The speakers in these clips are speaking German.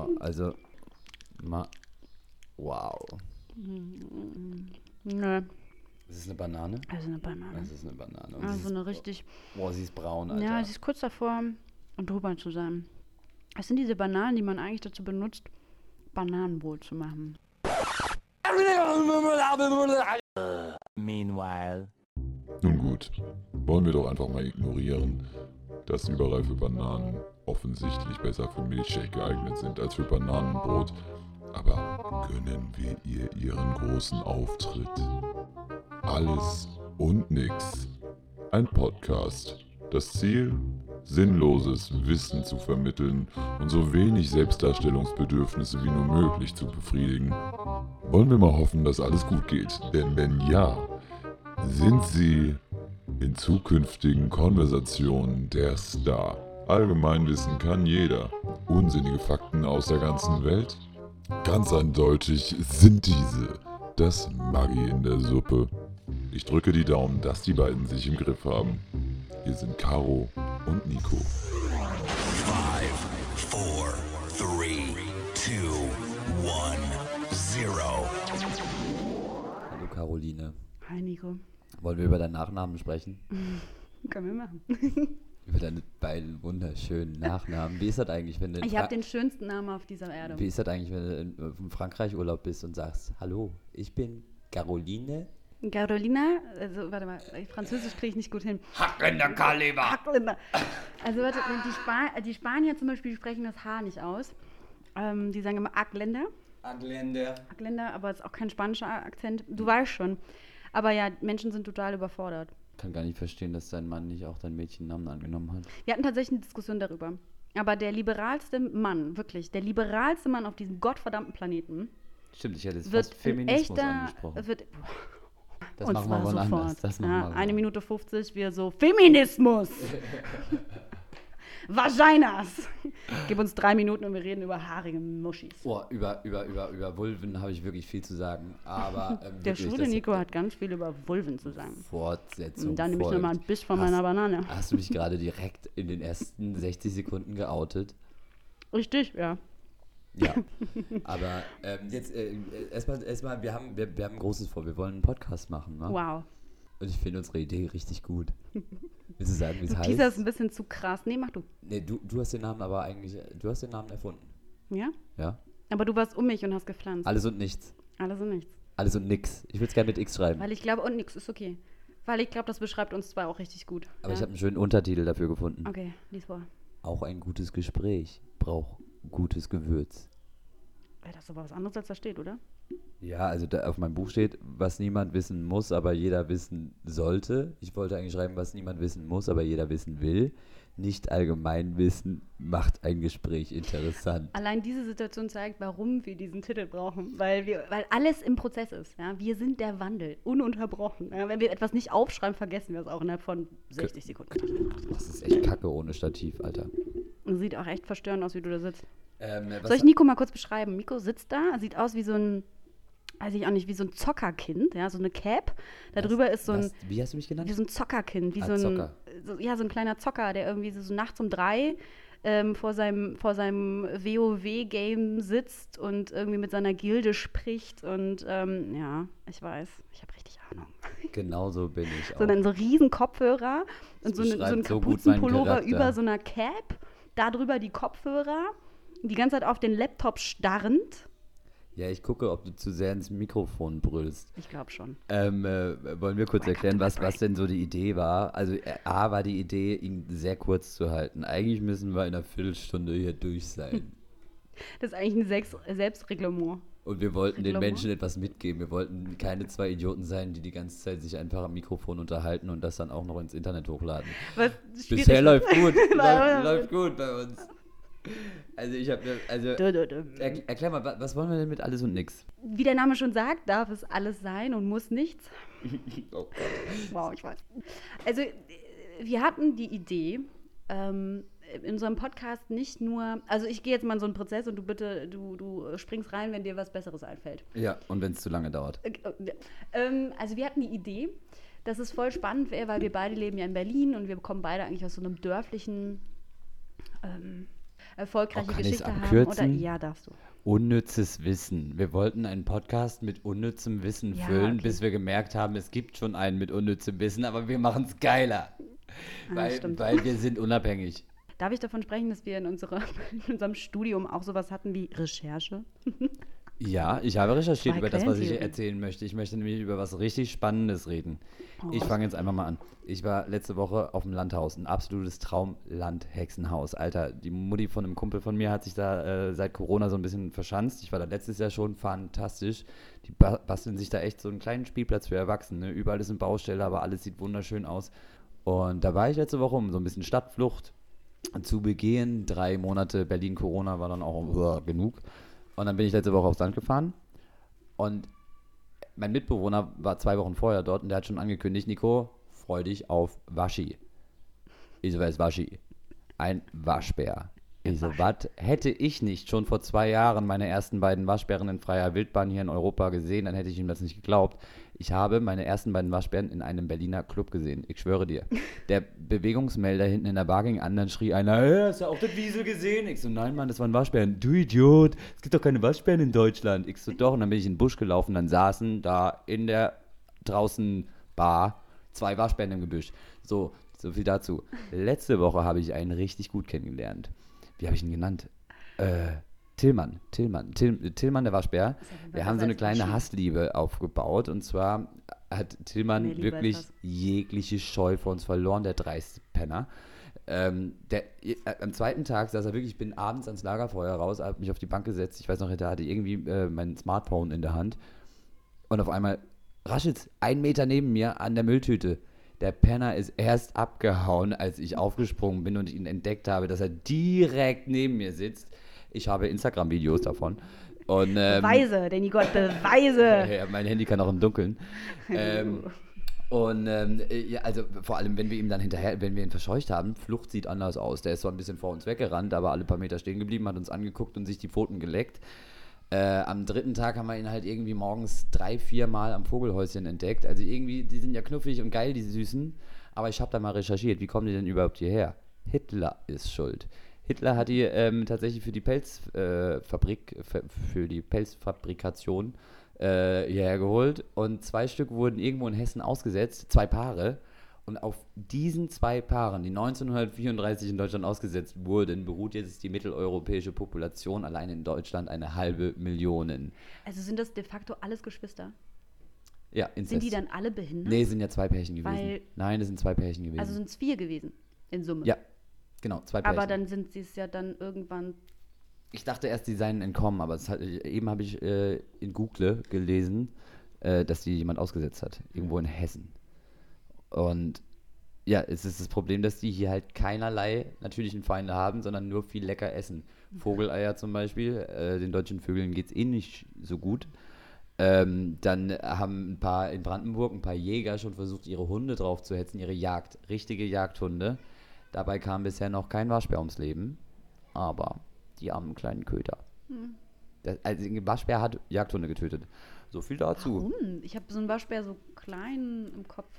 also wow. Nö. Ist es eine Banane? Also eine Banane. Das ist eine Banane. Und Also eine richtig... Boah, sie ist braun, Alter. Ja, sie ist kurz davor, drüber zu sein. Das sind diese Bananen, die man eigentlich dazu benutzt, Bananenbrot zu machen. Meanwhile. Nun gut, wollen wir doch einfach mal ignorieren, dass überreife Bananen offensichtlich besser für Milchshake geeignet sind als für Bananenbrot. Aber gönnen wir ihr ihren großen Auftritt. Alles und nix. Ein Podcast. Das Ziel? Sinnloses Wissen zu vermitteln und so wenig Selbstdarstellungsbedürfnisse wie nur möglich zu befriedigen. Wollen wir mal hoffen, dass alles gut geht. Denn wenn ja, sind Sie in zukünftigen Konversationen der Star. Allgemeinwissen kann jeder. Unsinnige Fakten aus der ganzen Welt? Ganz eindeutig sind diese das Maggi in der Suppe. Ich drücke die Daumen, dass die beiden sich im Griff haben. Hier sind Caro und Nico. 5, 4, 3, 2, 1, 0. Hallo Caroline. Hi Nico. Wollen wir über deinen Nachnamen sprechen? Können wir machen. Über deine beiden wunderschönen Nachnamen. Wie ist das eigentlich, wenn du Ich habe den schönsten Namen auf dieser Erde. Wie ist das eigentlich, wenn du in Frankreich Urlaub bist und sagst, hallo, ich bin Caroline? Carolina, also warte mal, Französisch kriege ich nicht gut hin. Hackender Kaliber! Hackländer. Also warte, die Spanier zum Beispiel sprechen das H nicht aus. Die sagen immer Ackländer. Ackländer, aber es ist auch kein spanischer Akzent. Du weißt schon. Aber ja, Menschen sind total überfordert. Ich kann gar nicht verstehen, dass dein Mann nicht auch deinen Mädchennamen angenommen hat. Wir hatten tatsächlich eine Diskussion darüber. Aber der liberalste Mann, wirklich, der liberalste Mann auf diesem gottverdammten Planeten Stimmt, ich hätte jetzt wird fast ein Feminismus echter, angesprochen. Das machen wir wohl anders. Das machen wir wohl 1 Minute 50, wir so, Feminismus! Vaginas! Gib uns 3 Minuten und wir reden über haarige Muschis. Oh, über Vulven habe ich wirklich viel zu sagen. Aber Der wirklich, schwule Nico hat ganz viel über Vulven zu sagen. Fortsetzung Und dann nehme ich folgt. nochmal ein Biss von meiner Banane. Hast du mich gerade direkt in den ersten 60 Sekunden geoutet? Richtig, ja. Ja, aber jetzt erstmal, wir haben ein großes Vor. Wir wollen einen Podcast machen, ne? Wow. Und ich finde unsere Idee richtig gut. Willst du sagen, wie es heißt? Dieser ist ein bisschen zu krass. Nee, mach du. Nee, du hast den Namen aber eigentlich, du hast den Namen erfunden. Ja? Ja? Aber du warst um mich und hast gepflanzt. Alles und nichts. Alles und nichts. Alles und nix. Ich würde es gerne mit X schreiben. Weil ich glaube, und nix ist okay. Weil ich glaube, das beschreibt uns zwei auch richtig gut. Aber ja? ich habe einen schönen Untertitel dafür gefunden. Okay, lies vor. Auch ein gutes Gespräch braucht gutes Gewürz. Ja, das ist aber was anderes, als da steht, oder? Ja, also da auf meinem Buch steht, was niemand wissen muss, aber jeder wissen sollte. Ich wollte eigentlich schreiben, was niemand wissen muss, aber jeder wissen will. Nicht allgemein wissen macht ein Gespräch interessant. Allein diese Situation zeigt, warum wir diesen Titel brauchen. Weil alles im Prozess ist. Ja? Wir sind der Wandel, ununterbrochen. Ja? Wenn wir etwas nicht aufschreiben, vergessen wir es auch innerhalb von 60 Sekunden. Das ist echt kacke ohne Stativ, Alter. Und sieht auch echt verstörend aus, wie du da sitzt. Was Soll ich Nico mal kurz beschreiben? Nico sitzt da, sieht aus wie so ein, weiß ich auch nicht, wie so ein Zockerkind, ja, so eine Cap. Da drüber ist so ein, wie hast du mich genannt? wie so ein Zockerkind, wie Ah, so ein, Zocker. so ein kleiner Zocker, der irgendwie so nachts um 3 vor seinem WoW-Game sitzt und irgendwie mit seiner Gilde spricht und ja, ich weiß, ich habe richtig Ahnung. Genau so bin ich auch. Sondern so riesen Kopfhörer und so ein beschreibt so gut meinen Kapuzenpullover Charakter. über so einer Cap, da drüber die Kopfhörer, die ganze Zeit auf den Laptop starrend. Ja, ich gucke, ob du zu sehr ins Mikrofon brüllst. Ich glaube schon. Wollen wir kurz erklären, was denn so die Idee war? Also A war die Idee, ihn sehr kurz zu halten. Eigentlich müssen wir in einer Viertelstunde hier durch sein. Das ist eigentlich ein Selbstreglement. Und wir wollten den Reglement? Menschen etwas mitgeben. Wir wollten keine 2 Idioten sein, die ganze Zeit sich einfach am Mikrofon unterhalten und das dann auch noch ins Internet hochladen. Was schwierig Bisher ist. läuft gut. läuft gut bei uns. Also erklär mal, was wollen wir denn mit alles und nix? Wie der Name schon sagt, darf es alles sein und muss nichts. Oh Gott. Wow, ich weiß. Also, wir hatten die Idee, in unserem Podcast nicht nur, also ich gehe jetzt mal in so einen Prozess und du springst rein, wenn dir was Besseres einfällt. Ja, und wenn es zu lange dauert. Also wir hatten die Idee, dass es voll spannend wäre, weil wir beide leben ja in Berlin und wir kommen beide eigentlich aus so einem dörflichen erfolgreiche kann ich's Geschichte haben? abkürzen? Oder ja, darfst du. Unnützes Wissen. Wir wollten einen Podcast mit unnützem Wissen Ja, füllen, okay. bis wir gemerkt haben, es gibt schon einen mit unnützem Wissen, aber wir machen es geiler. Stimmt. Weil wir sind unabhängig. Darf ich davon sprechen, dass wir in unserem Studium auch sowas hatten wie Recherche? Ja, ich habe recherchiert Zwei über das, was ich Quellentheorie. erzählen möchte. Ich möchte nämlich über was richtig Spannendes reden. Ich fange jetzt einfach mal an. Ich war letzte Woche auf dem Landhaus, ein absolutes Traumland-Hexenhaus. Alter, die Mutti von einem Kumpel von mir hat sich da seit Corona so ein bisschen verschanzt. Ich war da letztes Jahr schon, fantastisch. Die basteln sich da echt so einen kleinen Spielplatz für Erwachsene. Überall ist eine Baustelle, aber alles sieht wunderschön aus. Und da war ich letzte Woche, um so ein bisschen Stadtflucht zu begehen. 3 Monate Berlin-Corona war dann auch genug. Und dann bin ich letzte Woche aufs Land gefahren und mein Mitbewohner war 2 Wochen vorher dort und der hat schon angekündigt, Nico, freu dich auf Waschi. Ich so, wer ist Waschi? Ein Waschbär. Ich so, was hätte ich nicht schon vor 2 Jahren meine ersten beiden Waschbären in freier Wildbahn hier in Europa gesehen, dann hätte ich ihm das nicht geglaubt. Ich habe meine ersten beiden Waschbären in einem Berliner Club gesehen. Ich schwöre dir. Der Bewegungsmelder hinten in der Bar ging an, dann schrie einer, hey, hast du auch das Wiesel gesehen? Ich so, nein, Mann, das waren Waschbären. Du Idiot, es gibt doch keine Waschbären in Deutschland. Ich so, doch. Und dann bin ich in den Busch gelaufen, dann saßen da in der draußen Bar 2 Waschbären im Gebüsch. So viel dazu. Letzte Woche habe ich einen richtig gut kennengelernt. Wie habe ich ihn genannt? Tillmann, der Waschbär. Wir haben so eine kleine Hassliebe aufgebaut und zwar hat Tillmann Mehr Liebe wirklich als Hass. jegliche Scheu vor uns verloren, der dreiste Penner. Am zweiten Tag saß er wirklich, ich bin abends ans Lagerfeuer raus, habe mich auf die Bank gesetzt, ich weiß noch, der hatte irgendwie mein Smartphone in der Hand und auf einmal raschelt's 1 Meter neben mir an der Mülltüte. Der Penner ist erst abgehauen, als ich aufgesprungen bin und ihn entdeckt habe, dass er direkt neben mir sitzt. Ich habe Instagram-Videos davon. Und, Beweise, Danny Gott, Beweise! ja, mein Handy kann auch im Dunkeln. Ja, also vor allem, wenn wir ihn verscheucht haben, Flucht sieht anders aus. Der ist zwar ein bisschen vor uns weggerannt, aber alle paar Meter stehen geblieben, hat uns angeguckt und sich die Pfoten geleckt. Am 3. Tag haben wir ihn halt irgendwie morgens 3-4 Mal am Vogelhäuschen entdeckt. Also irgendwie, die sind ja knuffig und geil, die Süßen. Aber ich habe da mal recherchiert, wie kommen die denn überhaupt hierher? Hitler ist schuld. Hitler hat die tatsächlich für die Pelzfabrikation hierher geholt. Und 2 Stück wurden irgendwo in Hessen ausgesetzt, 2 Paare. Und auf diesen 2 Paaren, die 1934 in Deutschland ausgesetzt wurden, beruht jetzt die mitteleuropäische Population allein in Deutschland 500.000. Also sind das de facto alles Geschwister? Ja, Inzest. Sind die dann alle behindert? Nee, sind ja 2 Pärchen gewesen. Weil- Nein, das sind 2 Pärchen gewesen. Also sind es 4 gewesen, in Summe. ja, genau, 2 Pärchen. Aber dann sind sie es ja dann irgendwann. Ich dachte erst, die seien entkommen, aber eben habe ich in Google gelesen, dass die jemand ausgesetzt hat. Irgendwo in Hessen. Und ja, es ist das Problem, dass die hier halt keinerlei natürlichen Feinde haben, sondern nur viel lecker essen. Vogeleier zum Beispiel, den deutschen Vögeln geht es eh nicht so gut. Dann haben in Brandenburg ein paar Jäger schon versucht, ihre Hunde drauf zu hetzen, richtige Jagdhunde. Dabei kam bisher noch kein Waschbär ums Leben, aber die armen kleinen Köter. Also ein Waschbär hat Jagdhunde getötet. So viel dazu. Warum? Ich habe so einen Waschbär so klein im Kopf.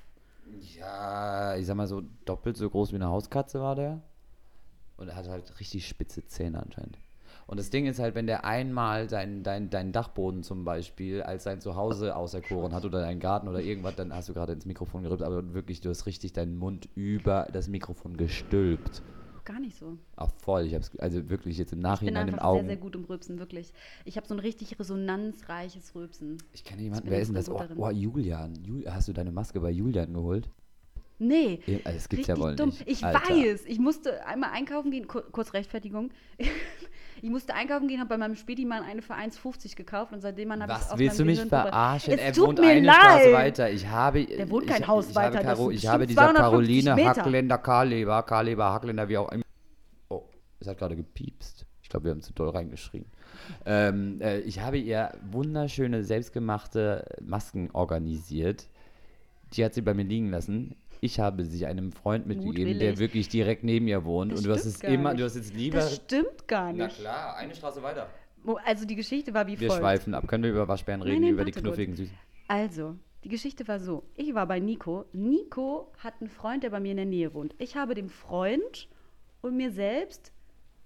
Ja, ich sag mal so doppelt so groß wie eine Hauskatze war der. Und er hat halt richtig spitze Zähne anscheinend. Und das Ding ist halt, wenn der einmal deinen Dachboden zum Beispiel als sein Zuhause auserkoren hat oder deinen Garten oder irgendwas, dann hast du gerade ins Mikrofon gerübt, aber wirklich, du hast richtig deinen Mund über das Mikrofon gestülpt. Gar nicht so. Ach voll, ich hab's also wirklich jetzt im Ich bin Nachhinein im einfach Augen. sehr, sehr gut im Rülpsen, wirklich. Ich habe so ein richtig resonanzreiches Rülpsen. Ich kenne jemanden, bin wer jetzt ist denn das? voll gut darin. Oh, Julian. Hast du deine Maske bei Julian geholt? Nee. Ja, das gibt's Richtig ja wohl dumm. nicht. Ich Alter. weiß. Ich musste einmal einkaufen gehen. Kurz Rechtfertigung. Ich musste einkaufen gehen, habe bei meinem Spedimann eine für 1,50 gekauft und seitdem habe ich Was auf willst du meinem mich Gehirn drüber. verarschen? Es Er tut wohnt mir eine leid. Straße weiter. Der wohnt kein Haus weiter, das sind Ich habe bestimmt dieser 250 Caroline Meter. Hackländer, Hackländer, wie auch immer. Oh, es hat gerade gepiepst. Ich glaube, wir haben zu doll reingeschrien. Ich habe ihr wunderschöne, selbstgemachte Masken organisiert. Die hat sie bei mir liegen lassen. Ich habe sie einem Freund mitgegeben, der Mutwillig. wirklich direkt neben ihr wohnt. Das Und du hast stimmt es gar immer, nicht. du hast jetzt lieber. Das stimmt gar Na nicht. klar, eine Straße weiter. Also die Geschichte war wie Wir folgt. schweifen ab. Können wir über Waschbären reden, Nein, über die warte kurz. knuffigen Süßen? Also, die Geschichte war so. Ich war bei Nico. Nico hat einen Freund, der bei mir in der Nähe wohnt. Ich habe dem Freund und mir selbst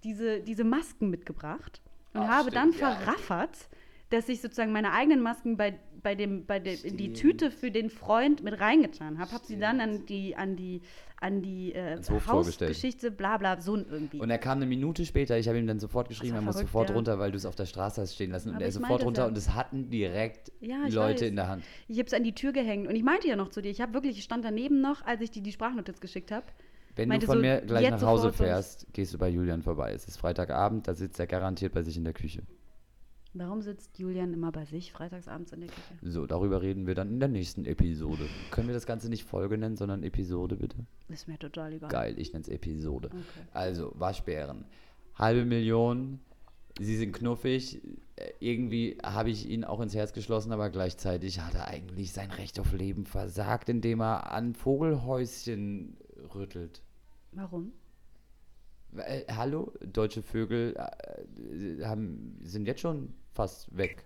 diese Masken mitgebracht und habe dann verraffert, dass ich sozusagen meine eigenen Masken in die Tüte für den Freund mit reingetan habe. Habe sie dann an die Hausgeschichte, bla bla, so irgendwie. Und er kam eine Minute später, ich habe ihm dann sofort geschrieben, er muss sofort runter, weil du es auf der Straße hast stehen lassen. Und er ist sofort runter und es hatten direkt Leute in der Hand. Ich habe es an die Tür gehängt und ich meinte ja noch zu dir, ich stand daneben noch, als ich dir die Sprachnotiz geschickt habe. Wenn du von mir gleich nach Hause fährst, gehst du bei Julian vorbei. Es ist Freitagabend, da sitzt er garantiert bei sich in der Küche. Warum sitzt Julian immer bei sich freitagsabends in der Küche? So, darüber reden wir dann in der nächsten Episode. Können wir das Ganze nicht Folge nennen, sondern Episode, bitte? Ist mir total egal. Geil, ich nenne es Episode. Okay. Also, Waschbären. 500.000, sie sind knuffig. Irgendwie habe ich ihn auch ins Herz geschlossen, aber gleichzeitig hat er eigentlich sein Recht auf Leben versagt, indem er an Vogelhäuschen rüttelt. Warum? Hallo, deutsche Vögel sind jetzt schon fast weg.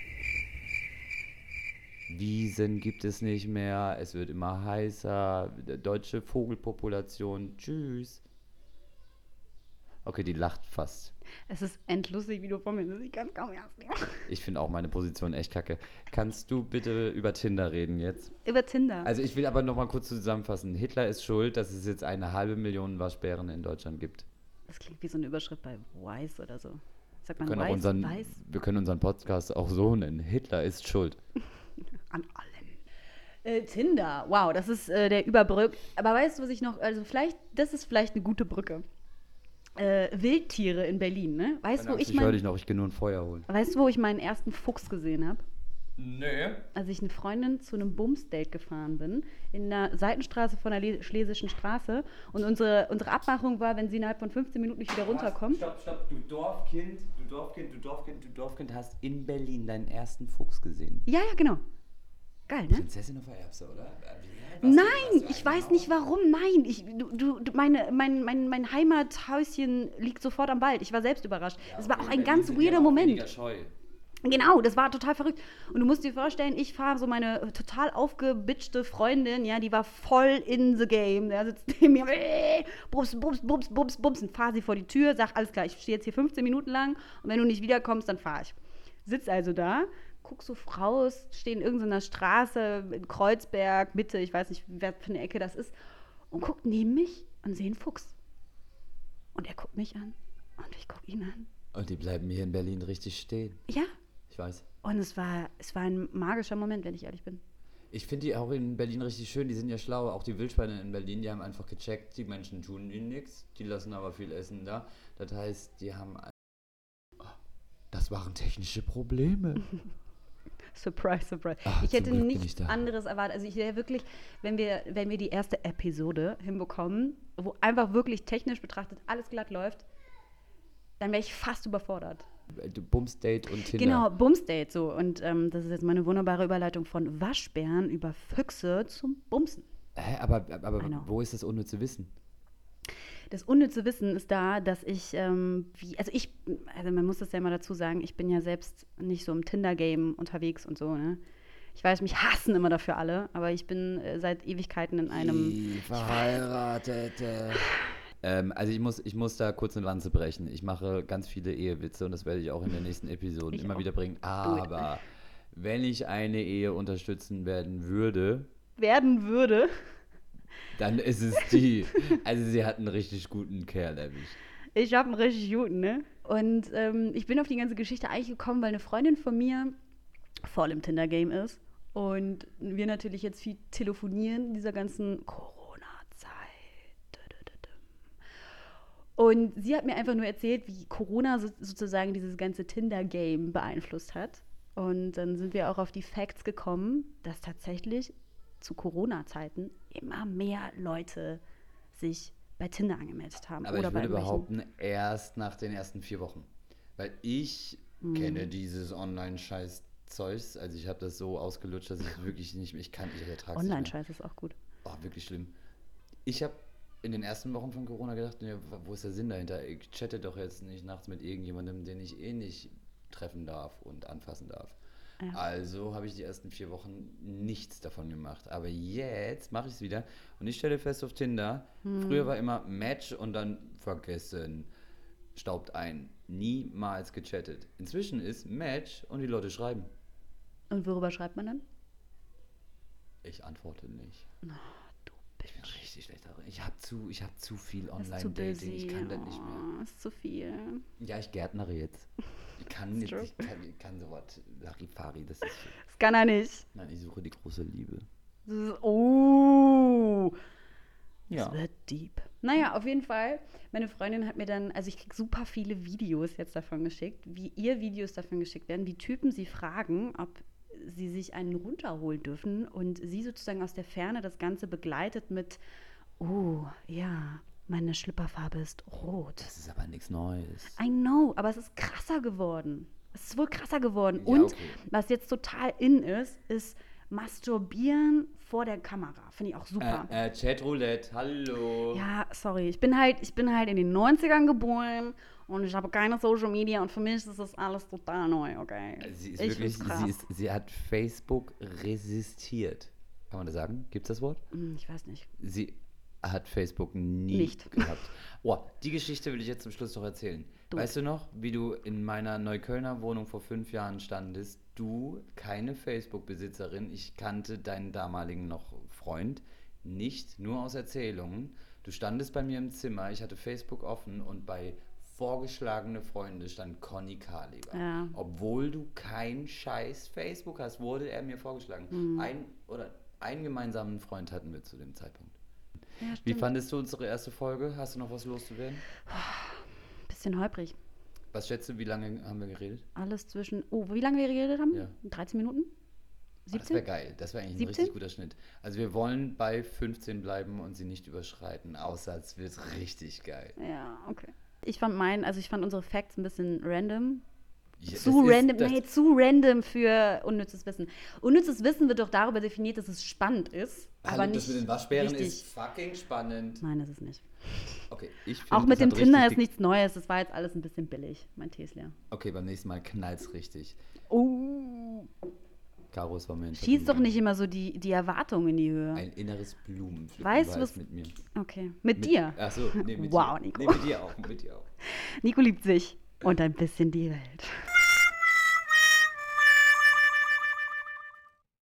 Wiesen gibt es nicht mehr, es wird immer heißer, deutsche Vogelpopulation, tschüss. Okay, die lacht fast. Es ist endlustig, wie du vor mir sitzt, ich kann es kaum ernst nehmen. Ich finde auch meine Position echt kacke. Kannst du bitte über Tinder reden jetzt? Über Tinder? Also ich will aber noch mal kurz zusammenfassen. Hitler ist schuld, dass es jetzt 500.000 Waschbären in Deutschland gibt. Das klingt wie so eine Überschrift bei Weiß oder so. Sagt man Weiß? Wir können unseren Podcast auch so nennen. Hitler ist schuld. An allem. Tinder, wow, das ist der Überbrück. Aber weißt du, was ich noch, das ist vielleicht eine gute Brücke. Wildtiere in Berlin, ne? Weißt du, ich höre dich noch, ich gehe nur ein Feuer holen. Weißt du, wo ich meinen ersten Fuchs gesehen habe? Nee. Als ich eine Freundin zu einem Bumsdate gefahren bin, in der Seitenstraße von der Schlesischen Straße. Und unsere Abmachung war, wenn sie innerhalb von 15 Minuten nicht wieder runterkommt. Stopp, du Dorfkind hast in Berlin deinen ersten Fuchs gesehen. Ja, genau. Geil, ne? Prinzessin auf der Erbse, oder? Nein, ich weiß nicht warum. Nein, mein Heimathäuschen liegt sofort am Wald. Ich war selbst überrascht. Es war auch ein ganz weirder Moment. Scheu. Genau, das war total verrückt. Und du musst dir vorstellen, ich fahre so meine total aufgebitchte Freundin, ja, die war voll in the game. Der sitzt neben mir, bums, und fahre sie vor die Tür, sag, alles klar, ich stehe jetzt hier 15 Minuten lang und wenn du nicht wiederkommst, dann fahre ich. Sitz also da, guck so raus, stehe in irgendeiner Straße in Kreuzberg, Mitte, ich weiß nicht, wer für eine Ecke das ist, und guckt neben mich und sehe einen Fuchs. Und er guckt mich an und ich gucke ihn an. Und die bleiben hier in Berlin richtig stehen. Ja. Ich weiß. Und es war ein magischer Moment, wenn ich ehrlich bin. Ich finde die auch in Berlin richtig schön, die sind ja schlau. Auch die Wildschweine in Berlin, die haben einfach gecheckt, die Menschen tun ihnen nichts, die lassen aber viel Essen da. Das heißt, die haben... Das waren technische Probleme. Surprise. Ich hätte nichts anderes erwartet. Also ich wäre wirklich, wenn wir die erste Episode hinbekommen, wo einfach wirklich technisch betrachtet alles glatt läuft, dann wäre ich fast überfordert. Bumsdate und Tinder. Genau, Bumsdate so. Und das ist jetzt meine wunderbare Überleitung von Waschbären über Füchse zum Bumsen. Aber wo ist das unnütze Wissen? Das unnütze Wissen ist da, dass ich, man muss das ja mal dazu sagen, ich bin ja selbst nicht so im Tinder-Game unterwegs und so, ne? Ich weiß, mich hassen immer dafür alle, aber ich bin seit Ewigkeiten in einem... Die Verheiratete... Also ich muss da kurz eine Lanze brechen. Ich mache ganz viele Ehewitze und das werde ich auch in den nächsten Episoden immer wieder bringen. Aber wenn ich eine Ehe unterstützen würde, dann ist es die. Also sie hat einen richtig guten Kerl erwischt. Ich habe einen richtig guten, ne? Und ich bin auf die ganze Geschichte eigentlich gekommen, weil eine Freundin von mir voll im Tinder-Game ist. Und wir natürlich jetzt viel telefonieren in dieser ganzen Corona-Zeit. Und sie hat mir einfach nur erzählt, wie Corona sozusagen dieses ganze Tinder-Game beeinflusst hat. Und dann sind wir auch auf die Facts gekommen, dass tatsächlich zu Corona-Zeiten immer mehr Leute sich bei Tinder angemeldet haben. Aber ich würde behaupten, erst nach den ersten 4 Wochen. Weil ich kenne dieses Online-Scheiß-Zeugs. Also ich habe das so ausgelutscht, dass ich wirklich nicht mehr, ich ertrage es. Online-Scheiß ist auch gut. Oh, wirklich schlimm. Ich habe in den ersten Wochen von Corona gedacht, ja, wo ist der Sinn dahinter? Ich chatte doch jetzt nicht nachts mit irgendjemandem, den ich nicht treffen darf und anfassen darf. Ja. Also habe ich die ersten 4 Wochen nichts davon gemacht. Aber jetzt mache ich es wieder und ich stelle fest auf Tinder, früher war immer Match und dann vergessen. staubt ein. Niemals gechattet. Inzwischen ist Match und die Leute schreiben. Und worüber schreibt man dann? Ich antworte nicht. Oh, du Ich bin richtig schlecht darin. Ich hab zu viel ist zu Online-Dating. busy. Ich kann das nicht mehr. Ist zu viel. Ja, ich gärtnere jetzt. Ich kann nicht, true. ich kann sowas. Larifari, das ist. Das kann er nicht. Nein, ich suche die große Liebe. Das ist, oh. Ja. Das wird deep. Naja, auf jeden Fall. Meine Freundin hat mir dann, also ich kriege super viele Videos jetzt davon geschickt, wie ihr Videos davon geschickt werden, wie Typen sie fragen, ob sie sich einen runterholen dürfen und sie sozusagen aus der Ferne das Ganze begleitet mit, oh, ja, meine Schlüpperfarbe ist rot. Das ist aber nichts Neues. I know, aber es ist krasser geworden. Es ist wohl krasser geworden. Ja, Und okay. was jetzt total in ist Masturbieren vor der Kamera. Finde ich auch super. Chatroulette, hallo. Ja, sorry. Ich bin halt in den 90ern geboren und ich habe keine Social Media und für mich ist das alles total neu, okay? Sie ist Ich wirklich, find's krass. sie hat Facebook resistiert. Kann man das sagen? Gibt es das Wort? Ich weiß nicht. Sie hat Facebook nie Nicht. gehabt. Oh, die Geschichte will ich jetzt zum Schluss noch erzählen. Du. Weißt du noch, wie du in meiner Neuköllner Wohnung vor 5 Jahren standest? Du, keine Facebook-Besitzerin, ich kannte deinen damaligen noch Freund, nicht nur aus Erzählungen. Du standest bei mir im Zimmer, ich hatte Facebook offen und bei vorgeschlagene Freunde stand Conny Kaliber. Ja. Obwohl du kein scheiß Facebook hast, wurde er mir vorgeschlagen. Einen gemeinsamen Freund hatten wir zu dem Zeitpunkt. Ja, Wie stimmt. fandest du unsere erste Folge? Hast du noch was loszuwerden? Bisschen holprig. Was schätzt du, wie lange haben wir geredet? Alles zwischen, wie lange wir geredet haben? Ja. 13 Minuten? Das 17? wäre geil. Das wäre eigentlich ein 17? richtig guter Schnitt. Also wir wollen bei 15 bleiben und sie nicht überschreiten, außer es wird richtig geil. Ja, okay. Ich fand unsere Facts ein bisschen random. Ja, Zu das random für unnützes Wissen. Unnützes Wissen wird doch darüber definiert, dass es spannend ist, Hallo, aber nicht das mit den Waschbären richtig. ist fucking spannend. Nein, ist es nicht. Okay, ich finde, Auch mit das dem hat Tinder richtig ist nichts Neues. Das war jetzt alles ein bisschen billig. Mein Tee ist leer. Okay, beim nächsten Mal knallt's richtig. Oh. Caro, es war mir ein Schieß doch Vergnügen. nicht immer so die Erwartungen in die Höhe. Ein inneres Blumenpflücken Weißt du, war es was- mit mir. Okay. Mit dir. Achso, nee, mit Wow, dir. Nico. Nee, mit dir auch, mit dir auch. Nico liebt sich und ein bisschen die Welt.